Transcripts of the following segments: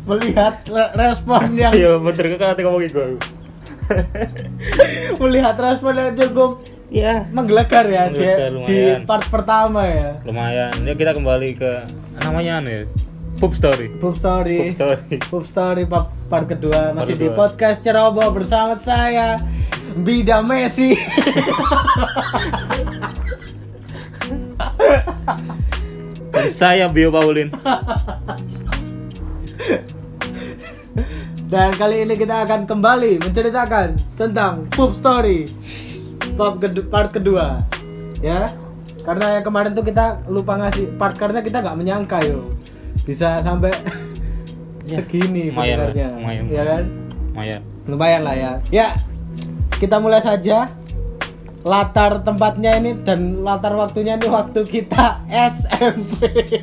melihat respon yang iya bener kan ngomong iku. Melihat respon yang cukup Ya, menggelegar ya di lumayan. part pertama ya. Lumayan. Ya kita kembali ke namanya nih. Pub Story. Pub Story part kedua masih di kedua. podcast Ceroboh bersama saya Bida Messi. Dan saya Bio Paulin. Dan kali ini kita akan kembali menceritakan tentang Pub Story part kedua ya, karena yang kemarin tuh kita lupa ngasih part karena kita nggak menyangka yo bisa sampai segini pendengarnya ya kan, lumayan lah ya. Kita mulai saja. Latar tempatnya ini dan latar waktunya ini waktu kita SMP.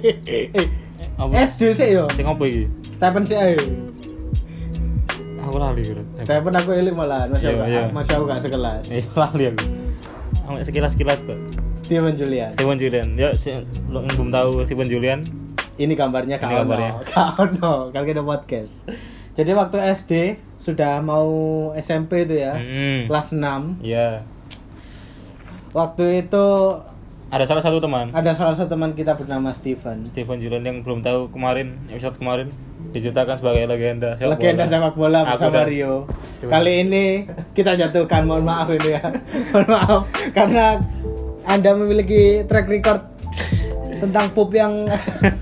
SD sih yo. Sing apa iki? Stephen sih ayo. Aku lali bro. Stephen aku eling malah, Iya. masih aku gak sekelas. Lali aku. Sampai sekilas-kilas tuh. Steven Julian. Ya, lo yang belum tahu Steven Julian. Ini gambarnya Kak Ono. Kalau kita podcast. Jadi waktu SD sudah mau SMP itu ya. Kelas 6. Iya. Waktu itu Ada salah satu teman kita bernama Steven Julian yang belum tahu episode kemarin diceritakan sebagai legenda sepak bola bersama Rio. Kali ini kita jatuhkan, mohon maaf ini ya. Mohon maaf karena Anda memiliki track record tentang pub yang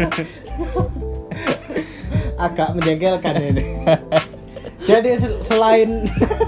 agak menjengkelkan ini. Jadi selain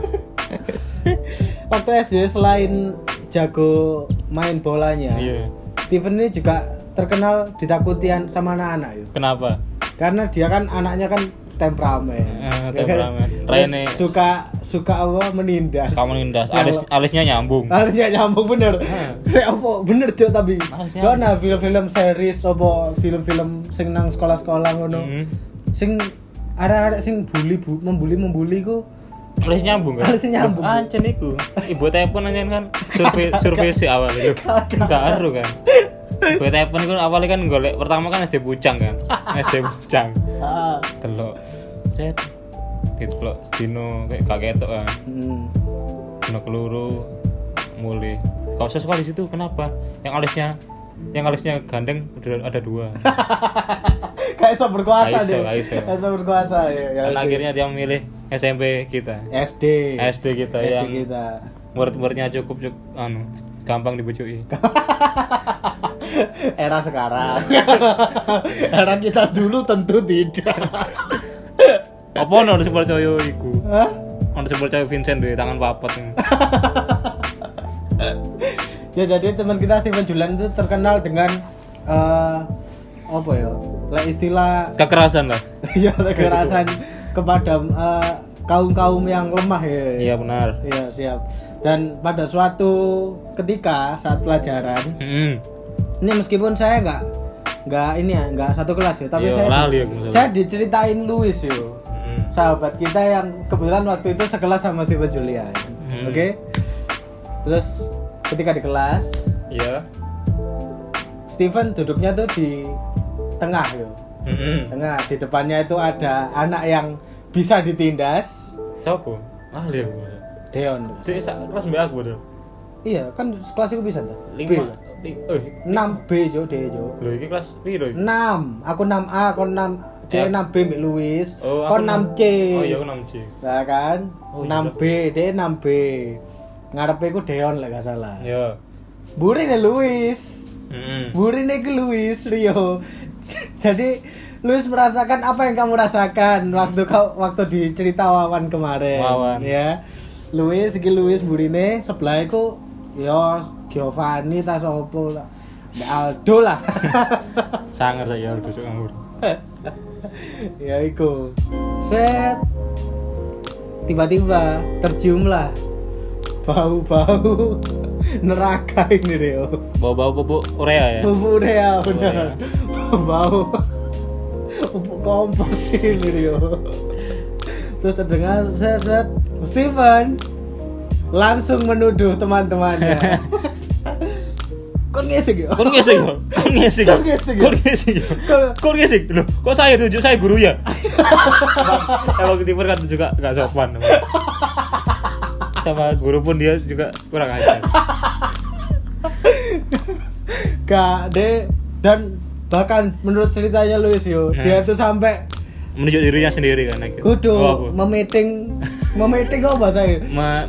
waktu SD selain jago main bolanya, Steven ini juga terkenal ditakutin sama anak-anak yuk. Kenapa? Karena dia kan anaknya kan temperamen. Rene suka apa menindas. Alisnya nyambung. Alisnya nyambung bener. Saya apa bener tuh tapi. Karena film-film series apa film-film sing nang sekolah-sekolah ngono. Sing ada sing membuli ku. Alisnya nyambung kan? Alisnya nyambung. Ancen iku. Ibu telepon anjen kan survei si awal itu. Karo kan. Ibu telepon iku awalnya kan golek pertama kan SD Pucang kan. SD Pucang. Delok. Set. Didelok sedino kayak kagetok kan. Dino keluru mulai. Kau sesuai di situ kenapa? Yang alisnya gandeng udah ada 2. Kayak so berkuasa dia. Kayak so berkuasa ya. Dan akhirnya dia memilih SMP kita. SD kita yang murid-muridnya cukup gampang dibujuki. Era sekarang. Era kita dulu tentu tidak. Apa harus percaya iku? Harus percaya Vincent di tangan papat. Ya jadi teman kita Steven Julian itu terkenal dengan apa ya? Lah istilah kekerasan lah. Iya, kekerasan kepada kaum-kaum yang lemah ya. Iya benar. Iya, siap. Dan pada suatu ketika saat pelajaran, ini meskipun saya nggak satu kelas ya, tapi saya diceritain Louis yo. Sahabat kita yang kebetulan waktu itu sekelas sama Steven Julian. Oke? Terus ketika di kelas, Steven duduknya tuh di tengah yo. Tengah, di depannya itu ada anak yang bisa ditindas. Siapa? Ahli aku. Deon. Dia kelas B aku betul. Iya, kan kelas itu bisa tuh. 6B jo D jo. Lho iki kelas piro iki? 6. Aku 6A, kon 6 D 6B mbek Louis. Kon 6C. Oh iya aku 6C. Lah kan? 6B, D 6B. Ngarepe ku Deon lek gak salah. Iya. Burine Louis. Burine ke Louis Rio. Jadi Louis merasakan apa yang kamu rasakan waktu di cerita Wawan kemarin. Ya. Louis burine sebelah iku ya Giovanni ta sopo lah. Aldo lah. Sangar saya Aldo cuk ngawur. Ya iku. Set. Tiba-tiba terciumlah bau-bau neraka ini Rio. Bau-bau pupuk urea ya? Pupuk urea benar. Bau pupuk kompos ini Rio. Terus terdengar set Steven langsung menuduh teman-temannya. Kon ngesek ya. Kon ngesek yo. Loh, kok saya tunjuk saya guru ya? Kalau ketiper kan juga enggak sopan. Sama guru pun dia juga kurang ajar. Gak deh, dan bahkan menurut ceritanya Luis yo, dia tuh sampai menunjuk dirinya sendiri kan akhirnya. kudu memeting apa saya?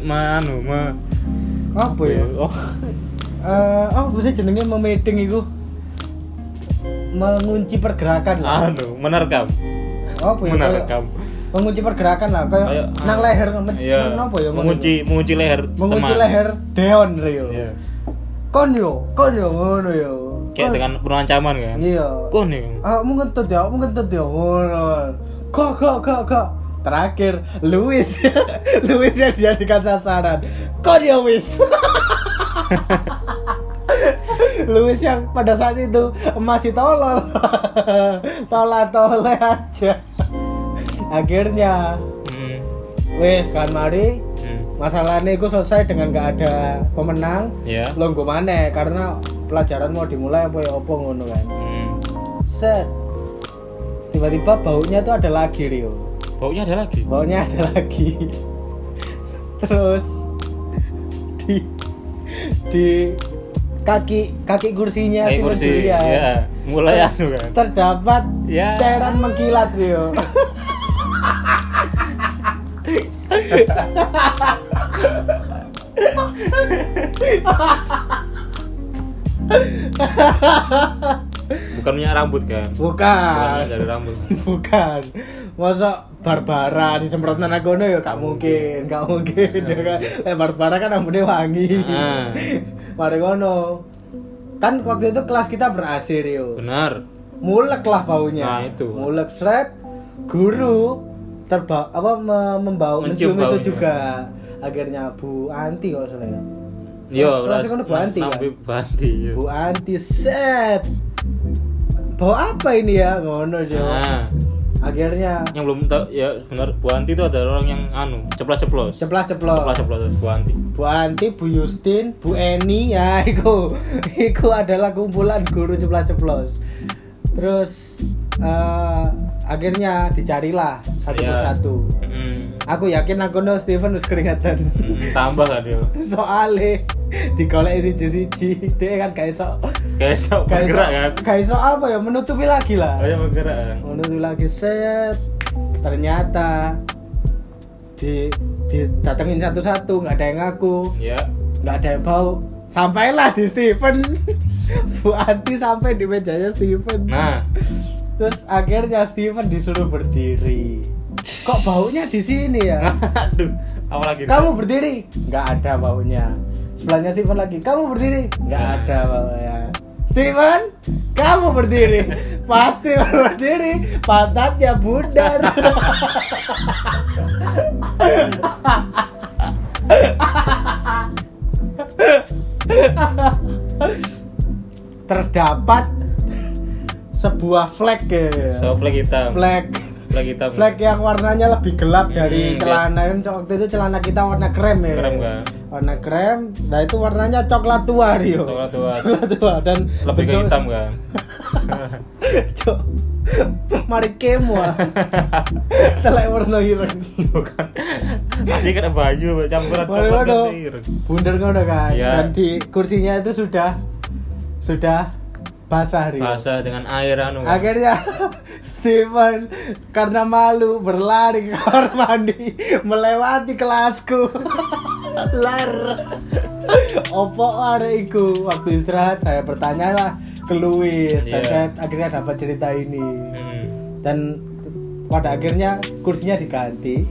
Apa ya? Oh bisa jenenge memeting iku mengunci pergerakan lah. Menerkam. Apa ya? Menerkam. Mengunci pergerakan lah, kayak nang leher apa ya? Mengunci leher. Mengunci leher Deon Rio. Iya. Kon yo ngono yo. Kayak dengan penuh ancaman kan? Iya. Kon yo. Mungkin tuh ngono. Kok. Terakhir Luis yang dijadikan sasaran. Kon yo wis. Luis yang pada saat itu masih tolol. Tolol aja. Akhirnya wes kan mari masalahnya itu selesai dengan gak ada pemenang. Longgo maneh karena pelajaran mau dimulai apa ya opo ngono kan. Set tiba-tiba baunya tuh ada lagi Rio. Baunya ada lagi. Terus di kaki kursinya kursi ya mulai kan terdapat cairan mengkilat Rio. Bukan minyak rambut kan? Bukan dari rambut. Bukan. Masa Barbara disemprot nang kono ya gak mungkin ya kan. Barbara kan rambutnya wangi. Mari ngono. Kan waktu itu kelas kita ber-AC Rio. Benar. Mulek lah baunya. Nah, itu. Mulek seret. Guru mencium itu baunya juga. Akhirnya Bu Anti kok salah ya. Yo, rasanya Bu Anti. Bu Anti set. Bau apa ini ya? Ngono Jo. Akhirnya yang belum tahu ya benar Bu Anti itu ada orang yang ceplas-ceplos Bu Anti, Bu Justin, Bu Eni ya itu adalah kumpulan guru ceplas-ceplos. Terus akhirnya dicarilah satu persatu. Aku yakin aku Steven harus keringatan. Tambah kan dia. Soalnya digoleki siji-siji, dia kan gak iso bergerak kan. Gak iso apa ya, menutupi lagi lah. Kayak bergerak kan. Menutupi lagi set. Ternyata didatengin satu-satu, enggak ada yang ngaku. Iya. Enggak ada yang bau. Sampailah di Steven. Bu Anti sampai di mejanya Steven. Nah, terus akhirnya Steven disuruh berdiri. Kok baunya di sini ya? Aduh, apa lagi? Kamu berdiri? Nggak ada baunya. Sebelahnya Steven lagi. Kamu berdiri? Nggak ada baunya. Steven, kamu berdiri? Pasti berdiri. Pantatnya bundar. Terdapat sebuah flag ya. Flag hitam. Flag yang warnanya lebih gelap dari celana. Waktu itu celana kita warna krem ya. Krem kan? Warna krem. Nah itu warnanya coklat tua Rio. Coklat tua dan lebih ke hitam kan. Mari kemo. Telek warna ireng. Bukan. Masih kena baju campuran coklat dan ireng. Bundar ngono kan. Ya. Dan di kursinya itu sudah basah Rio. Basah dengan air Akhirnya Steven karena malu berlari ke kamar mandi melewati kelasku. Lar. Opo are iku? Waktu istirahat saya bertanyalah ke Luis dan saya akhirnya dapat cerita ini. Dan pada akhirnya kursinya diganti.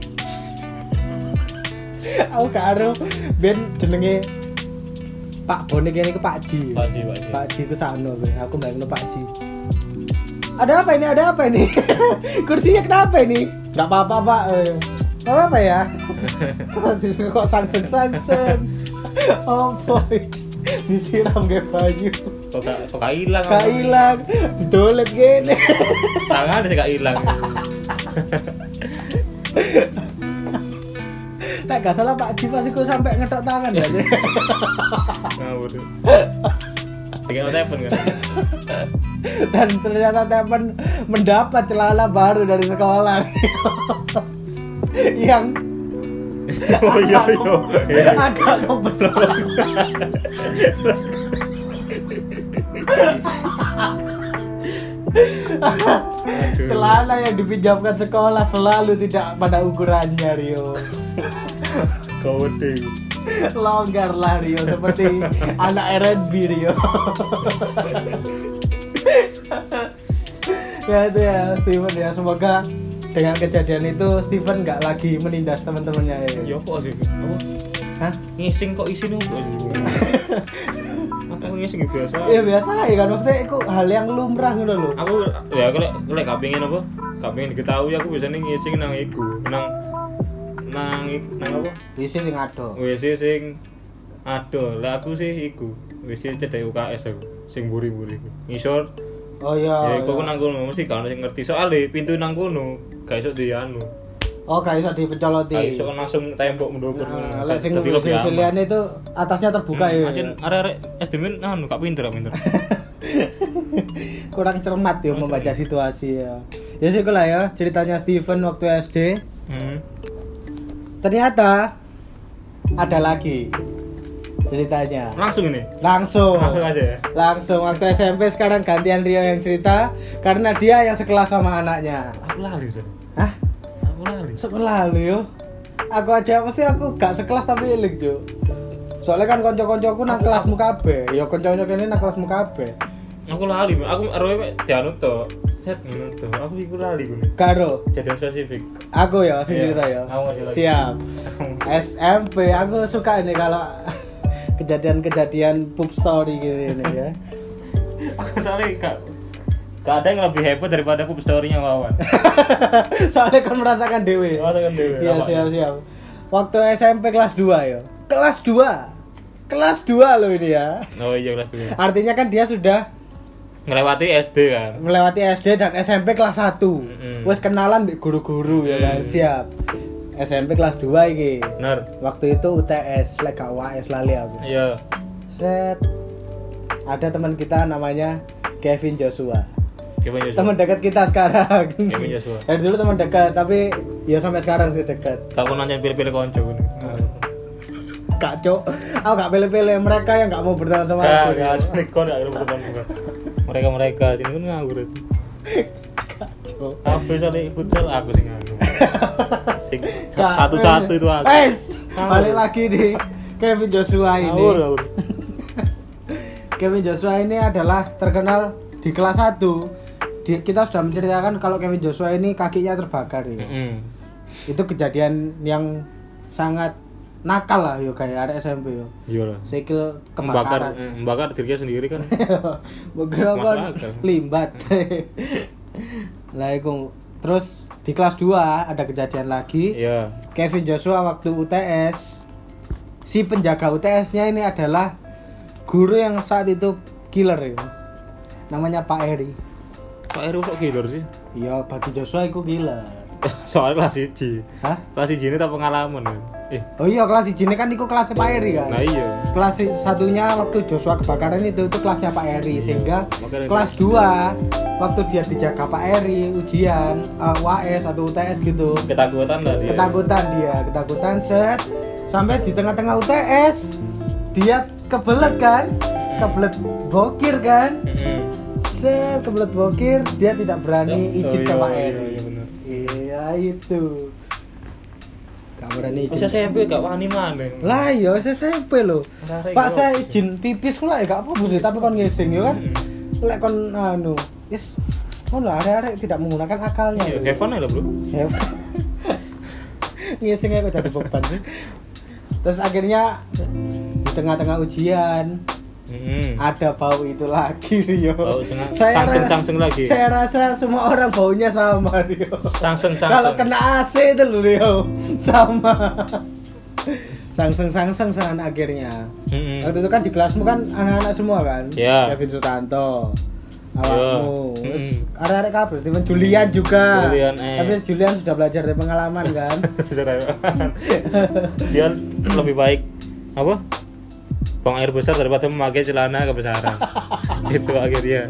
Aku karo ben jenenge Pak Bonek ini ke Pak Ji. Pak Ji ku sano aku bayangno Pak Ji. Ada apa ini? Kursinya kenapa ini? Enggak apa-apa, Pak. Enggak apa-apa ya. Masih kok sangseng. Oh boy. Disiram ke baju. Kok hilang? Kak hilang. Didolet gini. Tangan sih gak hilang. Nah, gak salah Pak Ji pasti kok sampai ngetok tangan ya sih. Ngawur. Dengan tepen kan. Dan ternyata Tepen mendapat celana baru dari sekolah. Yang Oh iya. agak kebesar. Celana yang dipinjamkan sekolah selalu tidak pada ukurannya, Rio. Kode. Longgar lah Rio, seperti anak R&B Rio. Ya itu ya Steven ya, semoga dengan kejadian itu Steven nggak lagi menindas teman-temannya ya. Ya kok sih? Apa? Hah? Ngising kok isine kok sih? Aku ngising biasa. Ya biasa ya kan, maksudnya itu hal yang lumrah ngono lho. Aku ya kalau gak pengen apa? Gak pengen diketahui aku biasanya ngising nang iku, nang apa? WC sing ado. WC sing ado. Lah aku sih iku, WC cedek UKS aku, sing buri-buri. Ngisor. Oh iya. Ya iku nang kono mesti kan sing ngerti soalnya pintu nang kono gak iso dianu. Oh gak iso dipencoloti. Gak iso langsung tembok mendukung. Nah, lek sing liane itu atasnya terbuka ya. Anjen arek-arek SD anu gak pinter. Kurang cermat ya membaca situasi ya. Ya sih lah ya ceritanya Steven waktu SD. Ternyata ada lagi ceritanya. Langsung ini. Langsung aja ya. Langsung waktu SMP, sekarang gantian Rio yang cerita karena dia yang sekelas sama anaknya. Aku lali Ustaz. Hah? Aku lali. Sekelas yo. Aku aja mesti aku gak sekelas tapi eling, Jo. Soalnya kan kanca-kancaku nang kelasmu kabeh. Ya kanca-kanca kene nang kelasmu kabeh. Aku lali, aku arep dianu to. Chat ngono to. Aku iku lali ku. Karo Jadian spesifik. aku ya masih cerita ya. Siap. SMP aku suka ini kalau kejadian-kejadian poop story gini ya. Aku soalnya gak ada yang lebih hebat daripada poop story-nya Wawan. Soalnya kan merasakan dewe. Iya, siap. Waktu SMP kelas 2 ya. Kelas 2 loh ini ya. Oh iya kelas 2. Artinya kan dia sudah Ngelewati SD kan. melewati SD dan SMP kelas 1. Wes kenalan di guru-guru ya kan. Siap. SMP kelas 2 iki. Bener. Waktu itu UTS, lek gak UAS lali aku. Iya. Set. Ada teman kita namanya Kevin Joshua. Kevin Joshua. Teman dekat kita sekarang. Kevin Joshua. Dari dulu teman dekat, tapi ya sampai sekarang sih dekat. Gak pernah nanya pilih-pilih konco ngono. Kak Cok, aku gak pilih-pilih mereka yang gak mau berteman sama aku. Gak asli kon gak berteman bukan. Mereka sini kan nganggur. Kak Cok. Aku soalnya futsal aku sing nganggur. Sing satu-satu itu aku. Balik lagi di Kevin Joshua ini. Ngawur. Kevin Joshua ini adalah terkenal di kelas 1. Kita sudah menceritakan kalau Kevin Joshua ini kakinya terbakar ya. Itu kejadian yang sangat nakal lah yo kayak ada SMP yo. Iya lah. Sikil kebakaran. Membakar dirinya sendiri kan. Begitu kan limbat. Lah iku terus di kelas 2 ada kejadian lagi. Iya. Kevin Joshua waktu UTS, si penjaga UTS-nya ini adalah guru yang saat itu killer ya. Namanya Pak Eri. Pak Eri kok killer sih? Iya, bagi Joshua itu killer. Soalnya kelas 1. Hah? Kelas 1 ini tak pengalaman kan. Oh iya, kelas 1 ini kan itu kelasnya Pak Eri kan. Nah iya. Kelas satunya waktu Joshua kebakaran itu kelasnya Pak Eri, sehingga makanya kelas 2 waktu dia dijaga Pak Eri ujian UAS atau UTS gitu. Ketakutan lah dia. Ketakutan set sampai di tengah-tengah UTS dia kebelet kan? Kebelet bokir kan? Set kebelet bokir, dia tidak berani izin ke Pak Eri. Iya itu. Gak berani izin. Bisa SMP gak wani maneh. Lah iya SMP lho. Pak saya izin pipis kula ya gak apa-apa sih, tapi kon ngising ya kan. Lek kon anu, yes. Kon lah arek-arek tidak menggunakan akalnya. Iya, have fun lah, Bro. Ngisingnya kok jadi beban sih. Terus akhirnya di tengah-tengah ujian ada bau itu lagi Rio. Sangseng lagi. Saya rasa semua orang baunya sama Rio. Sangseng. Kalau kena AC itu loh Rio, sama. Sangseng akhirnya. Waktu itu kan di kelasmu kan anak-anak semua kan. Yeah. Kevin Sutanto, awakmu, arek-arek kabeh, Steven Julian juga. Tapi Julian sudah belajar dari pengalaman kan. Dia lebih baik apa? buang air besar daripada memakai celana kebesaran. Itu akhirnya.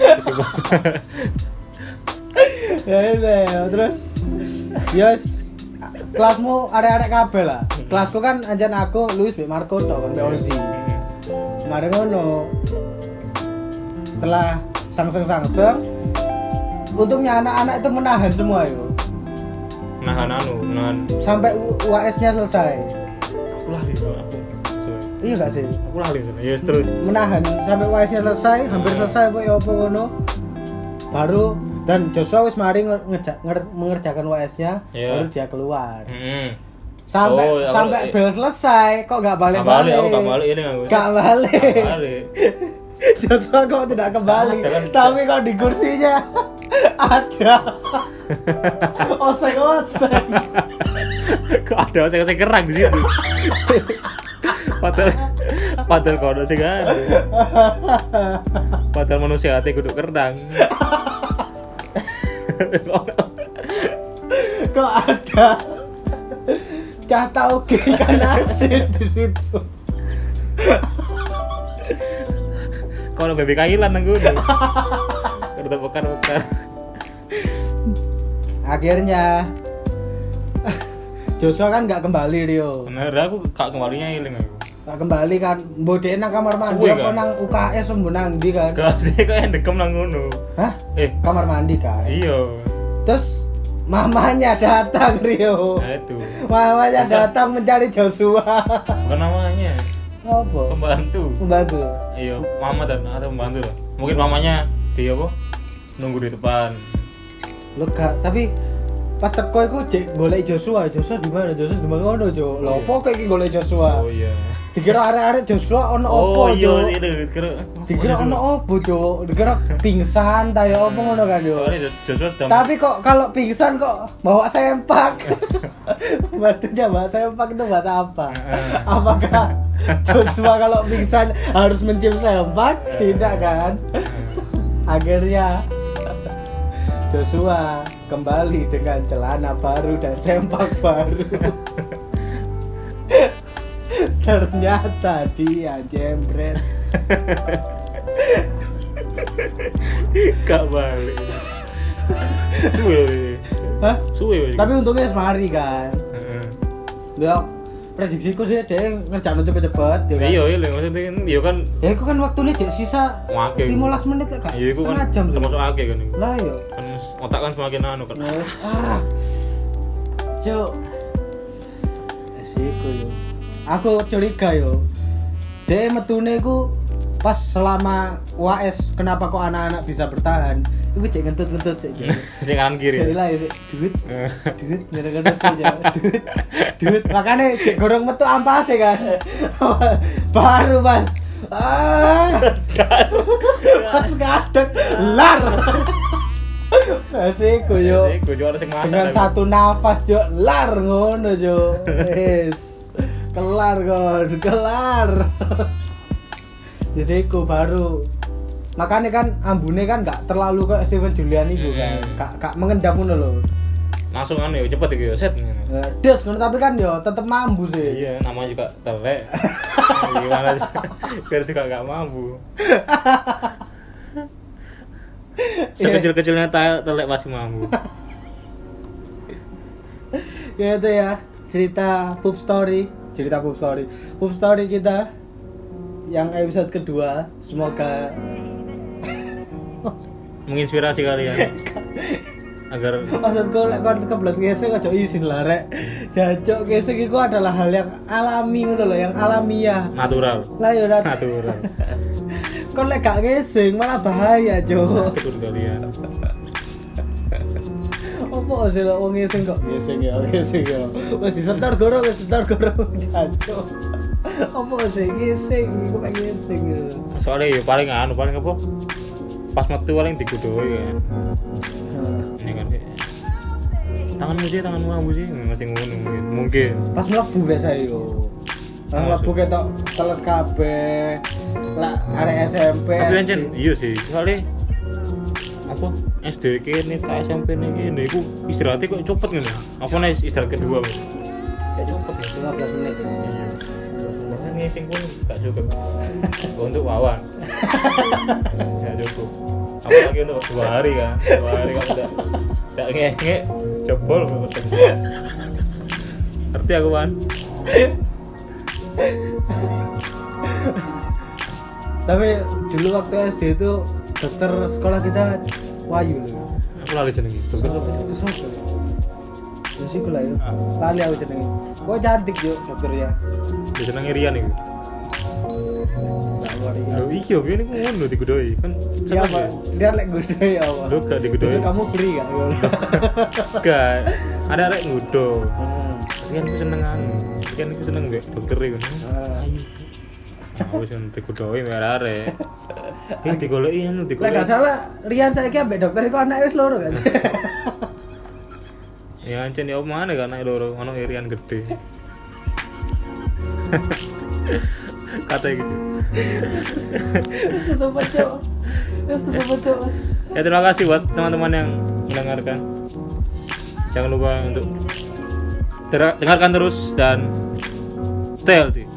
Ya itu. Terus yes kelasmu arek-arek kabeh lah. Kelasku kan anjen aku Luis Mbak Marco tok kan Mbak Ozi. Mari ngono. Setelah sangseng untungnya anak-anak itu menahan semua yo. Menahan Sampai UAS-nya selesai. aku lali aku. Iya gak sih? Aku lali. Ya terus. Menahan sampai UAS-nya selesai, hampir selesai kok ya apa ngono. Baru dan Joshua wis mari mengerjakan UAS-nya, baru dia keluar. Sampai bel selesai kok gak balik-balik. Gak balik ini aku. Gak balik. Joshua kok tidak kembali, tapi kok di kursinya ada oseng-oseng. Kok ada oseng-oseng kerang di situ. Padahal kau ada sih kan. Padahal manusia hati kudu kerang. Kok ada cah tauge ikan asin di situ. Kau ada bebek kailan nang gunung. Kerja bekar. Akhirnya Joshua kan nggak kembali Rio. Bener aku gak kembalinya ilang aku. Gak kembali kan, mbode nang kamar mandi apa nang UKS sembuh nang ndi kan? Gak sih kok yang dekem nang ngono. Hah? Kamar mandi kan? Iya. Terus mamanya datang Rio. Nah itu. Mamanya datang mencari Joshua. Bukan namanya. Apa? Pembantu. Iya, mama dan atau pembantu lah. Mungkin mamanya dia apa? Nunggu di depan. Lo gak, tapi pas teko iku jek golek Joshua di mana? Joshua di mana ngono, Jo. Lho opo kok iki golek Joshua? Oh iya. Dikira arek-arek Joshua ono opo, Jo? Oh iya, dikira ono opo, Jo? Dikira pingsan ta ya opo ngono kan, Jo? Soalnya Joshua sedang. Tapi kok kalau pingsan kok bawa sempak. Batunya bawa sempak itu buat apa? Apakah Joshua kalau pingsan harus mencium sempak? Tidak kan? Akhirnya Joshua kembali dengan celana baru dan sempak baru. Ternyata dia jembret. Gak balik. Suwe. Hah? Suwe. Tapi untungnya semari kan. Ya prediksiku sih dia ngerjain cepet-cepet ya kan. Iya, maksudnya kan iya kan. Ya itu kan waktunya cek sisa 15 menit lah kan. Iya, itu kan jam termasuk akeh kan. Lah iya. Kan otak kan semakin anu kan. Cuk. Esiku yo. Aku curiga yo. Dia metune ku pas selama UAS kenapa kok anak-anak bisa bertahan? Iku cek ngentut-ngentut cek. Sing kanan kiri. Lah ya duit gara-gara saja. Duit. Makane cek gorong metu ampase kan. Baru Mas. Pas kadek lar. Asiku yo. Dengan satu nafas yo lar ngono yo. Wis. Kelar. Jadiku baru. Makanya kan ambune kan enggak terlalu kayak Steven Julian itu kan. Kak mengendap ngono lho. Langsung kan ya cepet iki yo set. Des ngono tapi kan yo tetep mambu sih. Iya, namanya juga telek. Gimana sih? Biar juga enggak mambu. Sekecil-kecilnya telek masih mambu. Ya itu ya, cerita Pup Story kita yang episode kedua. Semoga menginspirasi kalian agar maksudku lek kon kebelet ngesek aja isin lah rek. Jajok ngesek iku adalah hal yang alami ngono lho, yang alamiah, natural. Lah yo natural. Kon lek gak ngesek malah bahaya, Jo. Betul kalian. Opo sih lek wong ngesek kok ngesek ya. Wis disetor gorong jajok. Opo sih ngesek iku pengen ngesek. Soalnya ya paling apa? Pas metu paling digudohi kan. Ini kan tanganmu abu sih masih ngono mungkin. Pas mlebu biasa yo. Pas mlebu ketok teles kabeh. Lah arek SMP. Tapi ancen iya sih. Soalnya apa SD kene ta SMP kene iku istirahatnya kok cepet ngono. Apa nek istirahat kedua Mas? Ya cepet ya 15 menit. Iya. ngising pun gak cukup untuk wawan. Gak cukup. Apalagi untuk 2 hari kan. 2 hari kamu tak nge jebol ngerti aku kan. Tapi dulu waktu SD itu dokter sekolah kita Wahyu loh. Aku lagi jenenge dokter. Dokter siapa? Ya sih lah ya. Lali aku jenenge. Kok cantik yo dokternya. Dia jenenge Rian iku. Enggak worry. Lho iki yo ngene ku ngono digudoi kan. Iya, Pak. Dia lek gudo ya, Pak. Lho gak digudoi. Besok kamu free gak? Gak. Ada arek ngudo. Hmm. Rian ku seneng anu. Rian ku seneng mbek dokter iku. Ah. Aku sing digudoi mbek arek. Iki digoleki anu Lek digoleki. gak salah Rian saiki ambek dokter iku anake wis loro kan. Ya ancen ya mana kan anak loro ono Rian gede. Kata gitu. Tutup aja. Tutup aja. Ya terima kasih buat teman-teman yang mendengarkan. Jangan lupa untuk dengarkan terus dan stay healthy.